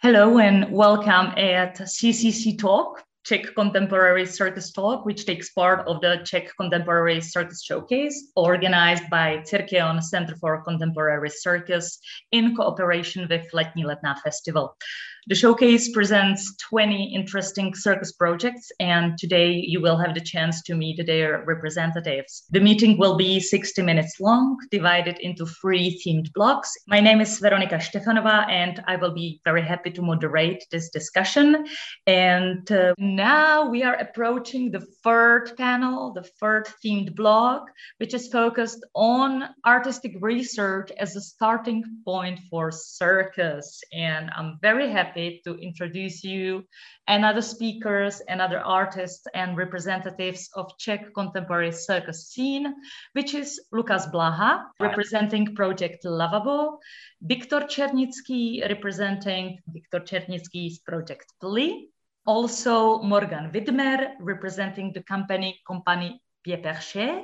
Hello and welcome at CCC Talk, Czech Contemporary Circus Talk, which takes part of the Czech Contemporary Circus Showcase, organized by Cirkeon Center for Contemporary Circus in cooperation with Letní Letná Festival. The showcase presents 20 interesting circus projects, and today you will have the chance to meet their representatives. The meeting will be 60 minutes long, divided into 3 themed blocks. My name is Veronika Štefanova, and I will be very happy to moderate this discussion. And now we are approaching the third panel, the third themed block, which is focused on artistic research as a starting point for circus. And I'm very happy to introduce you and other speakers and other artists and representatives of Czech contemporary circus scene, which is Lukas Blaha, representing Project Lavabo, Viktor Černický, representing Viktor Černický's Project Pli, also Morgan Widmer, representing the company Pied Perché,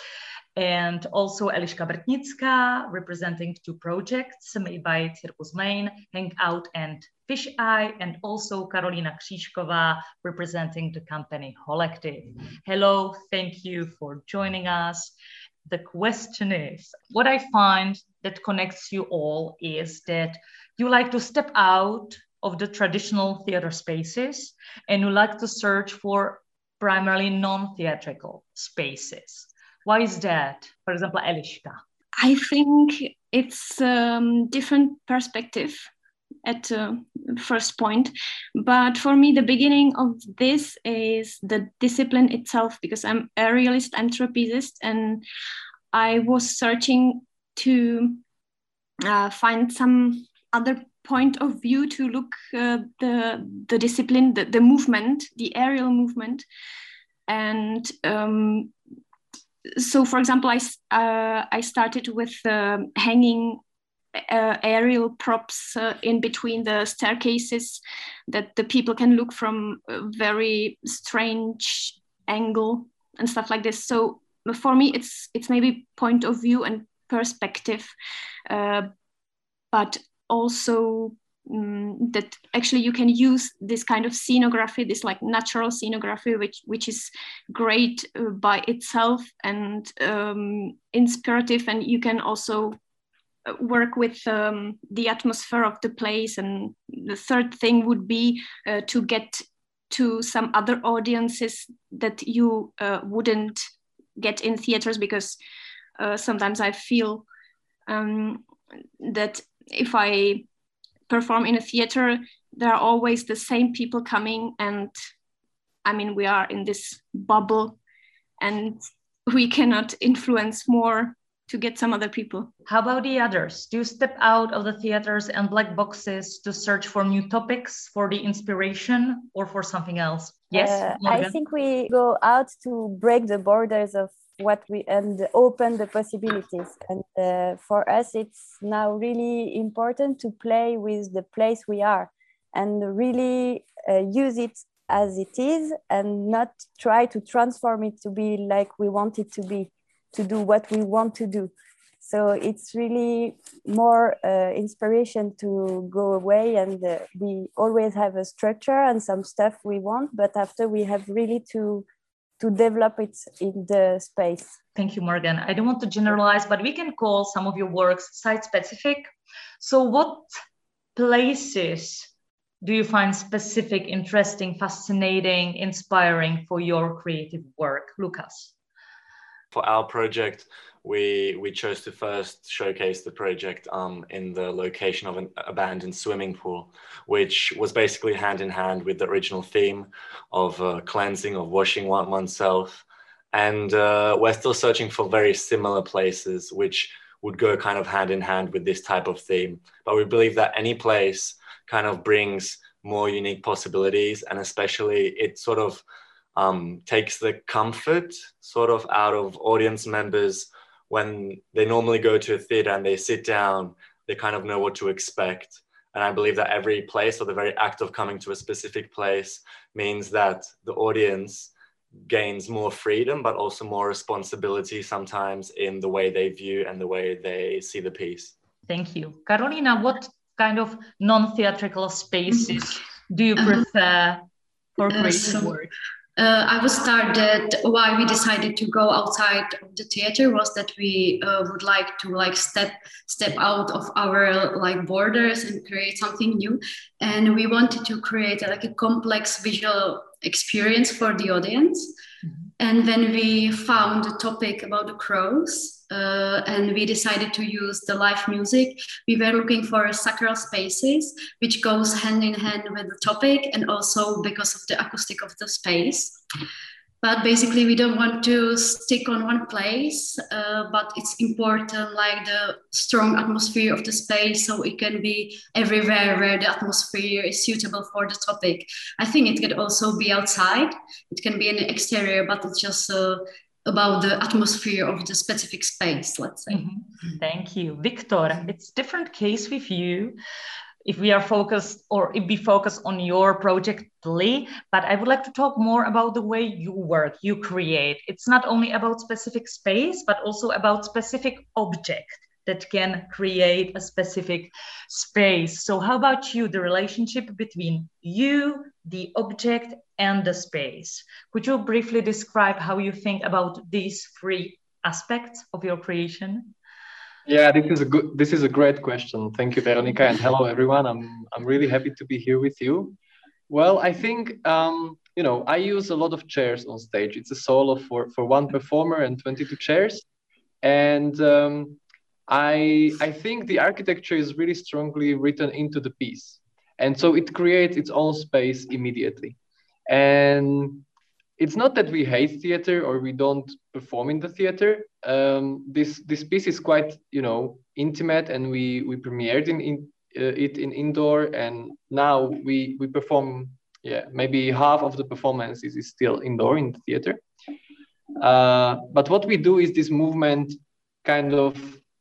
and also Eliška Brtnická, representing 2 projects made by Circus Main, Hangout and Fish Eye, and also Karolina Křížková, representing the company Holektiv. Hello, thank you for joining us. The question is, what I find that connects you all is that you like to step out of the traditional theater spaces and you like to search for primarily non-theatrical spaces. Why is that? For example, Eliška. I think it's different perspective at first point. But for me, the beginning of this is the discipline itself, because I'm a realist, I'm trapezist, and I was searching to find some other point of view to look the discipline, the movement, the aerial movement. And so, for example, I started with hanging aerial props in between the staircases that the people can look from a very strange angle and stuff like this. So for me, it's maybe point of view and perspective, but also that actually you can use this kind of scenography, this like natural scenography, which is great by itself and inspirative, and you can also work with the atmosphere of the place. And the third thing would be to get to some other audiences that you wouldn't get in theaters, because sometimes I feel that if I perform in a theater, there are always the same people coming, and I mean, we are in this bubble and we cannot influence more to get some other people. How about the others? Do you step out of the theaters and black boxes to search for new topics, for the inspiration, or for something else? Yes, I think we go out to break the borders of what we and open the possibilities. And for us, it's now really important to play with the place we are and really use it as it is and not try to transform it to be like we want it to be, to do what we want to do. So it's really more inspiration to go away, and we always have a structure and some stuff we want, but after we have really to develop it in the space. Thank you, Morgan. I don't want to generalize, but we can call some of your works site-specific. So what places do you find specific, interesting, fascinating, inspiring for your creative work? Lukas. For our project, we chose to first showcase the project in the location of an abandoned swimming pool, which was basically hand in hand with the original theme of cleansing, of washing oneself. And we're still searching for very similar places which would go kind of hand in hand with this type of theme. But we believe that any place kind of brings more unique possibilities, and especially it sort of takes the comfort sort of out of audience members. When they normally go to a theater and they sit down, they kind of know what to expect. And I believe that every place, or the very act of coming to a specific place, means that the audience gains more freedom, but also more responsibility sometimes in the way they view and the way they see the piece. Thank you. Karolina, what kind of non-theatrical spaces do you prefer for creative work? I would start that why we decided to go outside of the theater was that we would like to step out of our borders and create something new, and we wanted to create a complex visual experience for the audience. Mm-hmm. And when we found the topic about the crows, and we decided to use the live music, we were looking for sacral spaces, which goes hand in hand with the topic, and also because of the acoustic of the space. But basically, we don't want to stick on one place, but it's important, the strong atmosphere of the space, so it can be everywhere where the atmosphere is suitable for the topic. I think it can also be outside. It can be in the exterior, but it's just about the atmosphere of the specific space, let's say. Mm-hmm. Thank you. Victor, it's a different case with you. If we are focused, or if we focus on your project, but I would like to talk more about the way you work, you create. It's not only about specific space, but also about specific object that can create a specific space. So how about you, the relationship between you, the object, and the space? Could you briefly describe how you think about these three aspects of your creation? Yeah, this is a great question. Thank you, Veronika, and hello everyone. I'm really happy to be here with you. Well, I think I use a lot of chairs on stage. It's a solo for one performer and 22 chairs, and I think the architecture is really strongly written into the piece, and so it creates its own space immediately. And it's not that we hate theater or we don't perform in the theater. This piece is quite intimate, and we premiered it in indoor, and now we perform. Yeah, maybe half of the performances is still indoor in the theater. But what we do is this movement kind of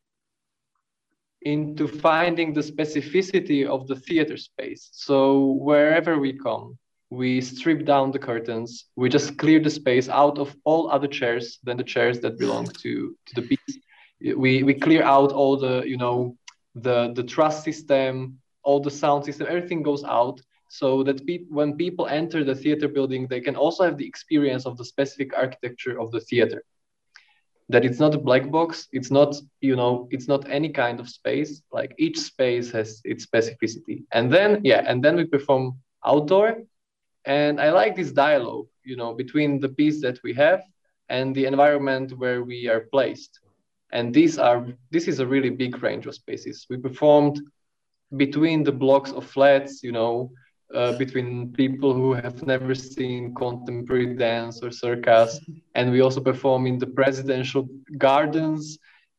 into finding the specificity of the theater space. So wherever we come, we strip down the curtains, we just clear the space out of all other chairs than the chairs that belong to the piece. We clear out all the, the truss system, all the sound system, everything goes out, so that when people enter the theater building, they can also have the experience of the specific architecture of the theater. That it's not a black box, it's not, it's not any kind of space, like each space has its specificity. And then we perform outdoor. And I like this dialogue, between the piece that we have and the environment where we are placed. And this is a really big range of spaces. We performed between the blocks of flats, between people who have never seen contemporary dance or circus. And we also perform in the presidential gardens,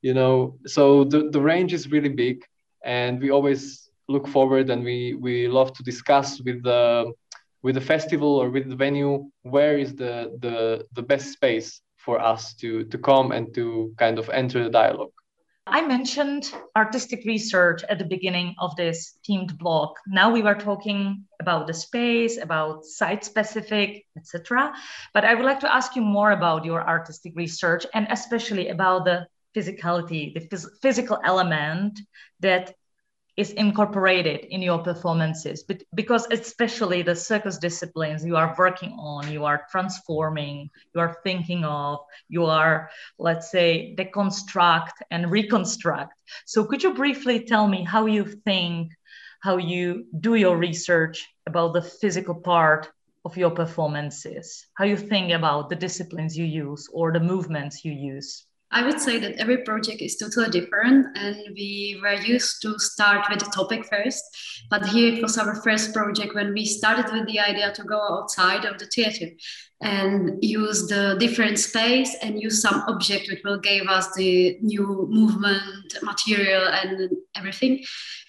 so the range is really big. And we always look forward, and we love to discuss with the festival or with the venue, where is the best space for us to come and to kind of enter the dialogue. I mentioned artistic research at the beginning of this themed block. Now we were talking about the space, about site-specific, etc. But I would like to ask you more about your artistic research, and especially about the physicality, the physical element that is incorporated in your performances, but because especially the circus disciplines you are working on, you are transforming, you are thinking of, you are, let's say, deconstruct and reconstruct. So could you briefly tell me how you think, how you do your research about the physical part of your performances, how you think about the disciplines you use or the movements you use? I would say that every project is totally different, and we were used to start with the topic first. But here it was our first project when we started with the idea to go outside of the theater and use the different space and use some object which will give us the new movement, material, and everything.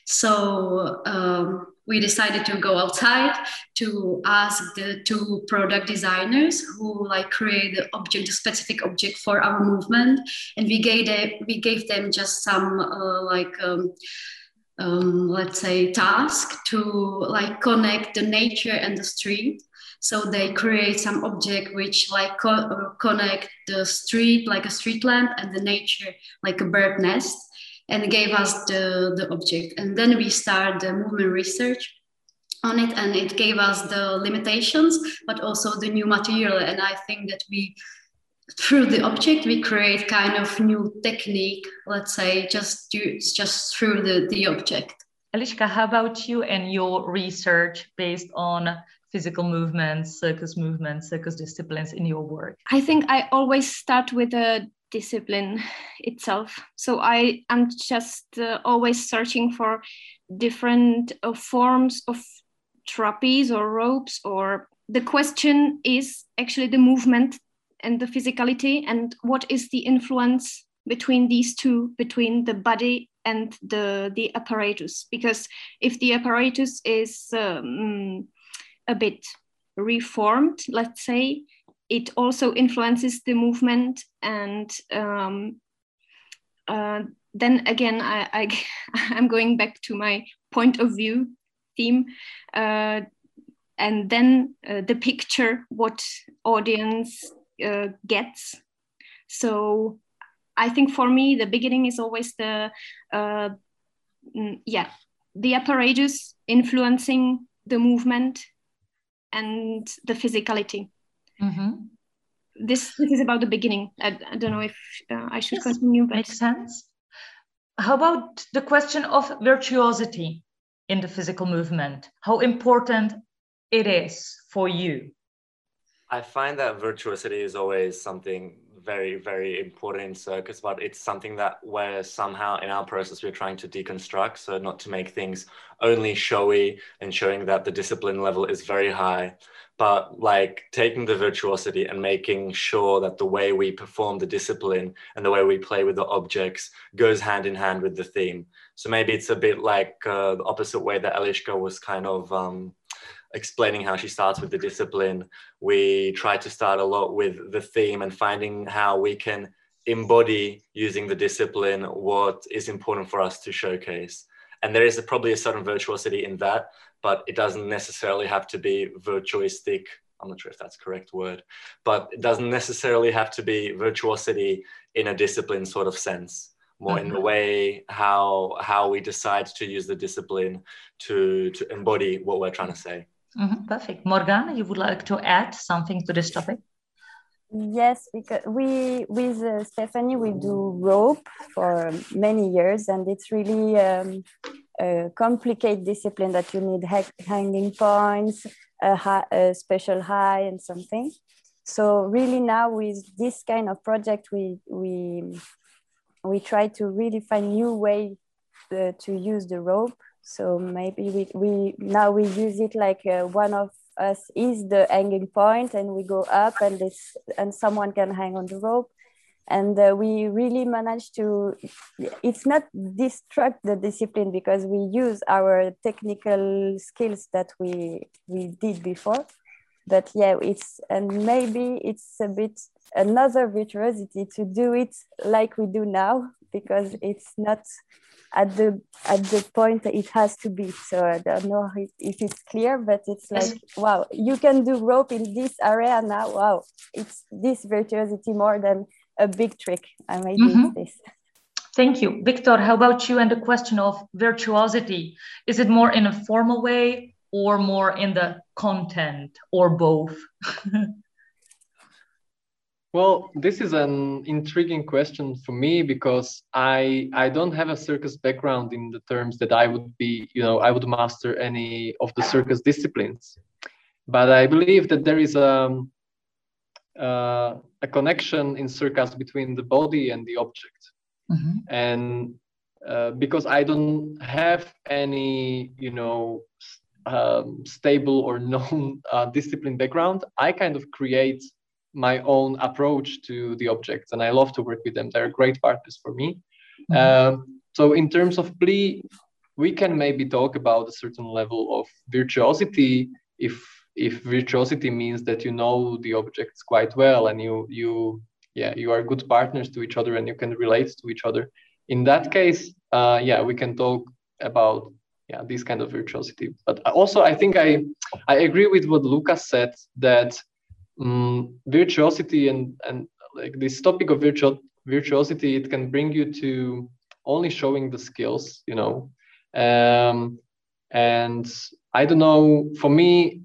So we decided to go outside to ask the two product designers who create the object, the specific object for our movement, and we gave them just some let's say task to connect the nature and the street. So they create some object which connect the street like a street lamp and the nature like a bird nest. and gave us the object. And then we start the movement research on it, and it gave us the limitations, but also the new material. And I think that through the object, we create kind of new technique, let's say, just through the object. Eliška, how about you and your research based on physical movements, circus disciplines in your work? I think I always start with the discipline itself. So I am just always searching for different forms of trapeze or ropes, or the question is actually the movement and the physicality, and what is the influence between these two, between the body and the apparatus. Because if the apparatus is a bit reformed, let's say, it also influences the movement. And then again, I'm going back to my point of view theme, and then the picture, what audience gets. So I think for me, the beginning is always the apparatus influencing the movement and the physicality. Mm-hmm. This is about the beginning. I don't know if I should continue. But... Makes sense. How about the question of virtuosity in the physical movement? How important it is for you? I find that virtuosity is always something very, very important in circus, but it's something that where somehow in our process we're trying to deconstruct, so not to make things only showy and showing that the discipline level is very high, but like taking the virtuosity and making sure that the way we perform the discipline and the way we play with the objects goes hand in hand with the theme. So maybe it's a bit like the opposite way that Eliška was kind of explaining how she starts with the discipline. We try to start a lot with the theme and finding how we can embody using the discipline what is important for us to showcase. And there is probably a certain virtuosity in that, but it doesn't necessarily have to be virtuistic. I'm not sure if that's the correct word, but it doesn't necessarily have to be virtuosity in a discipline sort of sense. More in the way how we decide to use the discipline to embody what we're trying to say. Mm-hmm. Perfect. Morgan, you would like to add something to this topic? Yes, because we with Stephanie we do rope for many years, and it's really a complicated discipline that you need hanging points, a special high, and something. So really now with this kind of project, we try to really find new way to use the rope. So maybe we now use it like one of us is the hanging point, and we go up, and someone can hang on the rope, and we really managed to. It's not destruct the discipline because we use our technical skills that we did before, but yeah, maybe it's a bit another virtuosity to do it like we do now, because it's not at the point that it has to be. So I don't know if it's clear, but it's like, wow, you can do rope in this area now. Wow, it's this virtuosity more than a big trick. And maybe it's this. Thank you. Victor, how about you and the question of virtuosity? Is it more in a formal way or more in the content, or both? Well, this is an intriguing question for me because I don't have a circus background in the terms that I would be, I would master any of the circus disciplines. But I believe that there is a connection in circus between the body and the object. Mm-hmm. And because I don't have any, stable or known discipline background, I kind of create my own approach to the objects, and I love to work with them. They're great partners for me. Mm-hmm. So in terms of play, we can maybe talk about a certain level of virtuosity if virtuosity means that you know the objects quite well and you are good partners to each other and you can relate to each other. In that case, we can talk about this kind of virtuosity. But also I think I agree with what Lucas said, that virtuosity and like this topic of virtuosity, it can bring you to only showing the skills, you know. And I don't know, for me,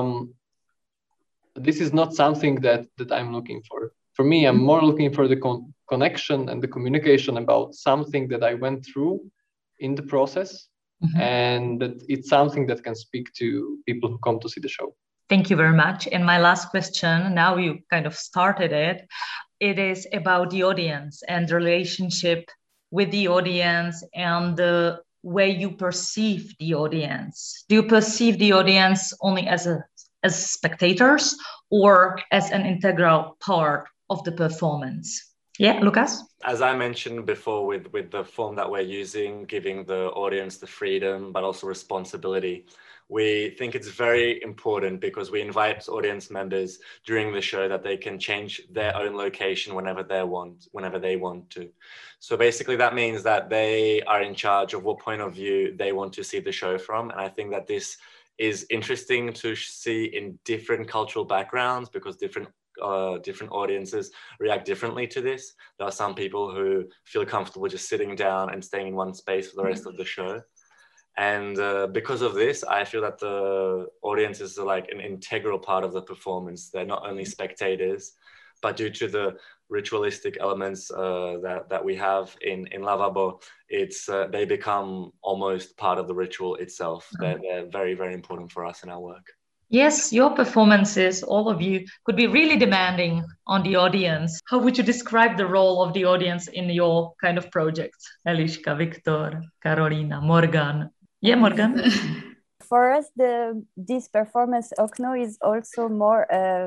this is not something that I'm looking for. For me, I'm more looking for the connection and the communication about something that I went through in the process, and that it's something that can speak to people who come to see the show. Thank you very much. And my last question, now you kind of started it, it is about the audience and the relationship with the audience and the way you perceive the audience. Do you perceive the audience only as spectators or as an integral part of the performance? Yeah, Lucas? As I mentioned before, with the form that we're using, giving the audience the freedom, but also responsibility, we think it's very important because we invite audience members during the show that they can change their own location whenever they want to. So basically that means that they are in charge of what point of view they want to see the show from. And I think that this is interesting to see in different cultural backgrounds because different audiences react differently to this. There are some people who feel comfortable just sitting down and staying in one space for the rest of the show. And because of this, I feel that the audience is like an integral part of the performance. They're not only spectators, but due to the ritualistic elements that we have in Lavabo, they become almost part of the ritual itself. They're very, very important for us in our work. Yes, your performances, all of you, could be really demanding on the audience. How would you describe the role of the audience in your kind of project? Eliška, Viktor, Karolina, Morgan. Yeah, Morgan? For us, this performance Okno is also more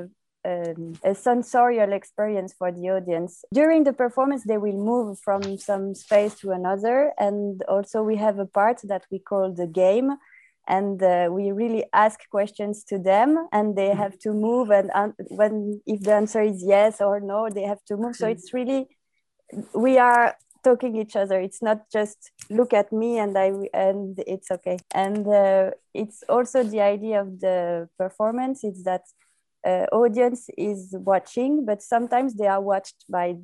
a sensorial experience for the audience. During the performance, they will move from some space to another. And also we have a part that we call the game. And we really ask questions to them and they have to move. And if the answer is yes or no, they have to move. So it's really, we are talking each other. It's not just look at me and it's okay. And it's also the idea of the performance is that audience is watching, but sometimes they are watched by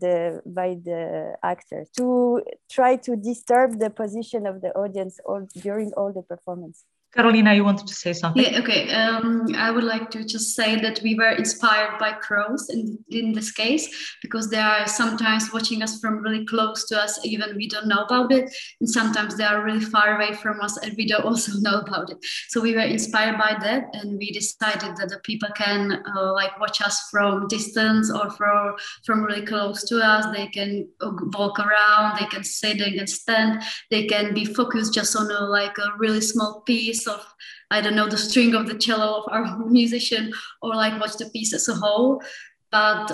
the actors to try to disturb the position of the audience during all the performance. Karolina, you wanted to say something? Yeah, okay. I would like to just say that we were inspired by crows in this case, because they are sometimes watching us from really close to us, even we don't know about it. And sometimes they are really far away from us and we don't also know about it. So we were inspired by that and we decided that the people can watch us from distance or from really close to us. They can walk around, they can sit, they can stand, they can be focused just on a really small piece of, I don't know, the string of the cello of our musician, or watch the piece as a whole. But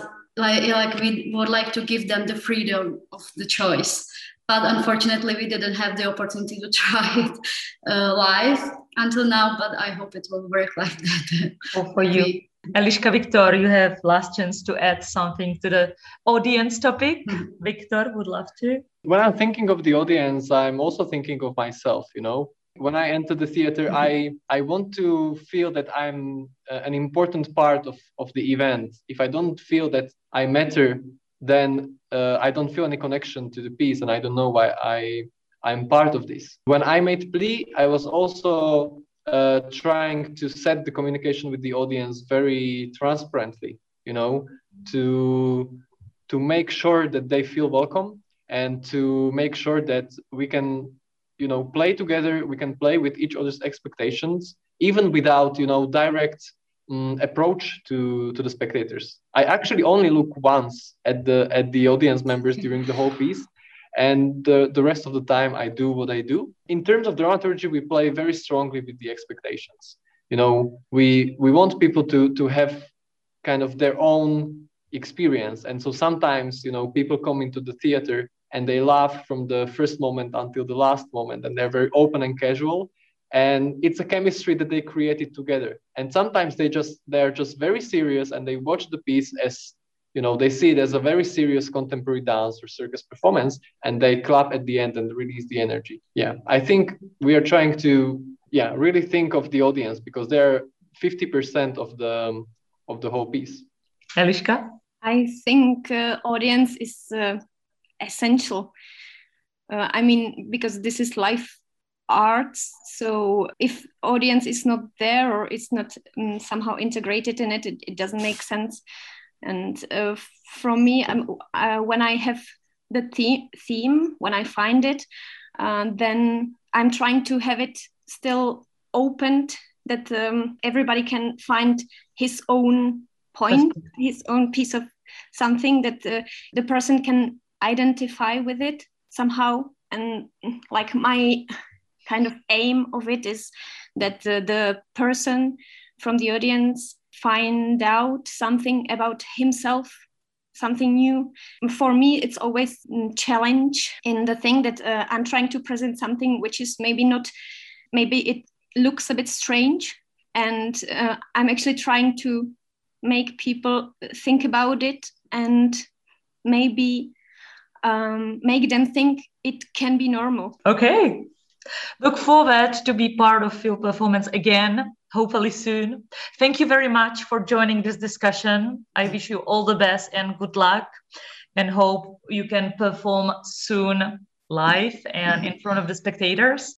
we would like to give them the freedom of the choice. But unfortunately, we didn't have the opportunity to try it live until now, but I hope it will work like that. Oh, for you. Eliška, Viktor, you have last chance to add something to the audience topic. Viktor, would love to. When I'm thinking of the audience, I'm also thinking of myself, you know. When I enter the theater, I want to feel that I'm an important part of the event. If I don't feel that I matter, then I don't feel any connection to the piece and I don't know why I'm part of this. When I made Pli, I was also trying to set the communication with the audience very transparently, you know, to make sure that they feel welcome and to make sure that we can, you know, play together, we can play with each other's expectations, even without, you know, direct approach to the spectators. I actually only look once at the audience members during the whole piece, and the rest of the time I do what I do. In terms of dramaturgy, we play very strongly with the expectations. You know, we want people to have kind of their own experience, and so sometimes, you know, people come into the theater and they laugh from the first moment until the last moment, and they're very open and casual. And it's a chemistry that they created together. And sometimes they're just very serious and they watch the piece as, you know, they see it as a very serious contemporary dance or circus performance, and they clap at the end and release the energy. Yeah, I think we are trying to, really think of the audience because they're 50% of the whole piece. Eliška? I think audience is essential I mean, because this is live arts, so if audience is not there or it's not somehow integrated in it, it doesn't make sense. And from me, when I have the theme, when I find it, then I'm trying to have it still opened, that everybody can find his own point, his own piece of something, that the person can identify with it somehow. And like my kind of aim of it is that the person from the audience find out something about himself, something new. For me, it's always a challenge in the thing that I'm trying to present something which is maybe it looks a bit strange, and I'm actually trying to make people think about it and maybe make them think it can be normal. Okay. Look forward to be part of your performance again, hopefully soon. Thank you very much for joining this discussion. I wish you all the best and good luck, and hope you can perform soon live and in front of the spectators.